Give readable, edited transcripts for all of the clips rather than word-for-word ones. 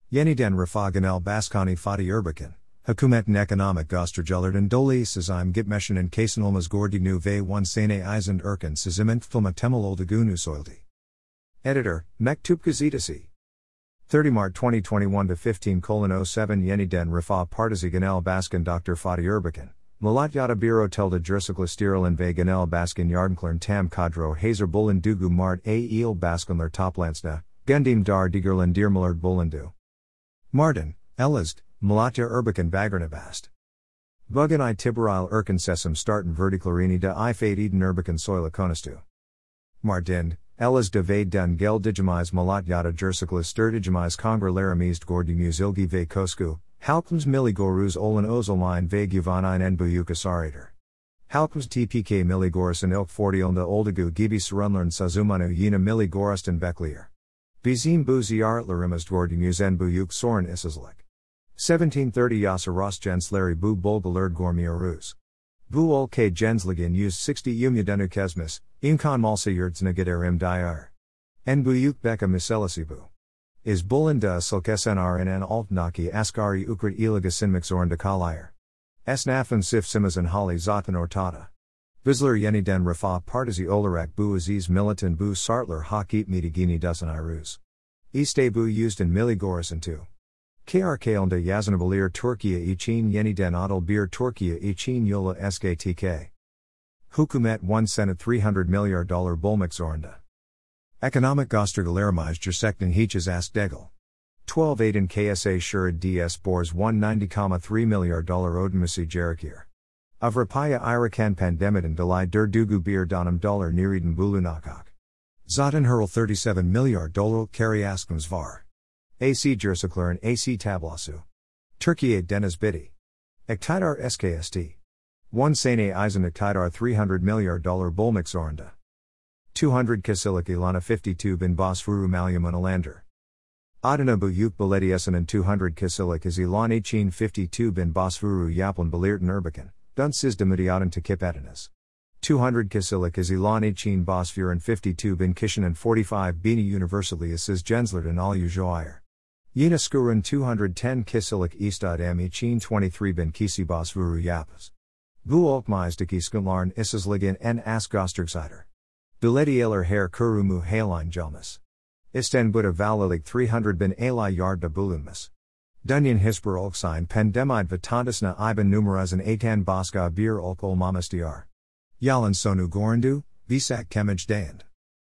Yeniden Refah Baskani Fatih Erbakan, Hükümetin Ekonomik Göstergelerden dolayı sizim gitmeşinin kesinolmaz gördüğünü ve one sene izin erken sizimin filma temel olduğunu söyledi. Editor, Mektup Gazetesi. 30 Mart 2021 to 15:07 Yeniden Refah Partisi Genel Baskan Dr. Fatih Erbakan, Malatyada Biro Tilde Gerçekleştirilen ve Genel Baskan Yardımcıların Tam Kadro Hazır Bulunduğu Mart A il Baskanlar Toplansına, Gundim Dar Digerlendirmeler Bulundu. Mardin, Elazığ, Malatya Erbakan Bagernabast. Bugün Tiberil Erkan Sesim Starten Verdiklarini de Ifade Eden Erbakan Soyla Konustu. Mardin, Elazığ ve dun gel digimiz Malatyada Gerçekleştirdiğimiz Kongrelerimiz gördüğümüz ilgi ve kosku, halkımız milli goruz olan özelliğin ve güvenliğin en büyük esarıdır. Halkımız tpk milli gorusun ilk 40'ında olduğu gibi sorunların sözümünü yine milli gorustan bekliyor. Bizim bu ziyaretlerimiz gördüğümüz en büyük sorun işsizlik. 1730 yasa Rosgensleri bu bulgalar görmüyoruz. Bu ülke gensliğin 160 umudunu kesmiş, imkan malsa yurdsına giderim diyor. En büyük beka meselesi bu. Is bulunda silkesenr en altnaki asgari ukrat iligasinmix zorunda kalıyor. Esnafın sif simizin hali zaten ortada. Bizler yeniden Refah Partisi olarak bu aziz militan bu sartlar hak etmedigini düşünürüz. İşte bu yüzden milli gorusun tu. KRK'ında yazınabilir Türkiye için yeniden adil bir Türkiye için yola SKTK. Hükümet 1 sene $300 milyar bulmak zorunda. Ekonomik göstergelerimiz gerçekten hiç az değil. 12 Aydın KSA şurid DS bors $190,3 milyar ödemesi gerekir. Avrupa'ya irakan pandemiden dolayı durduğu bir dönem nereden bulunacak. Zaten hurl $37 milyar carry askımız var. AC Gerçeklerin AC tablosu. Türkiye deniz biti. İktidar SKST. 1 sene izin iktidar $300 milyar bulmak zorunda. 200 kasilik ilana 52 bin basfuru malumun alander. Adına büyük belediyesinin 200 kasilik is ilan için 52 bin basfuru yapın belirten Erbakan, dun siz demediadan takip ediniz. 200 kasilik is ilan için basfuran 52 bin kişinin 45 bini universally siz genslerden alüjoyer. Yine skurun 210 kasilik istadam için 23 bin kisi basfuru yapız. Bu olkmizdaki skunlarn isizligin en as göstergesider. Belediyeler her kurumu haline gelmez. İstanbul'da valilik 300 bin alay yardda bulunmaz. Dunyan hisper olksign pandemide vatantasına iban numerazın atan baska bir olk olmamas diyar. Yalan sonu gorandu, visak kemaj dayand.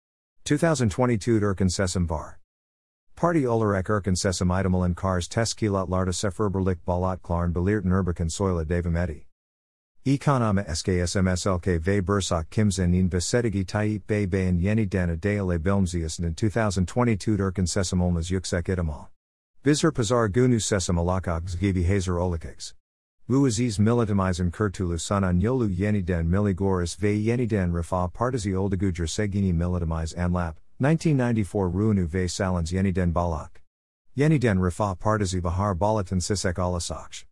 2022 Erkan Sesim var. Parti olarak Erkan Sesim idamalan kars teskilatlarda seferberlik balat klarn belirten Erbakan soyla devameti. Ekonoma SKSMSLK ve Bursak Kimsenin Besetigi Tayyip Bey Bayan Yeniden Adayale Bilmziasın 2022 Erkan Sesim olmaz yüksek ihtimal. Bizler pazar günü sesim alakags gibi hazır olacaksınız. Bu aziz militamizin kurtulu sunan yolu yeniden milli gorus ve yeniden Refah Partisi olduğu gersegini militamiz anlap, 1994 ruinu ve salans yeniden balak. Yeniden Refah Partisi bahar balatan sisek alasakş.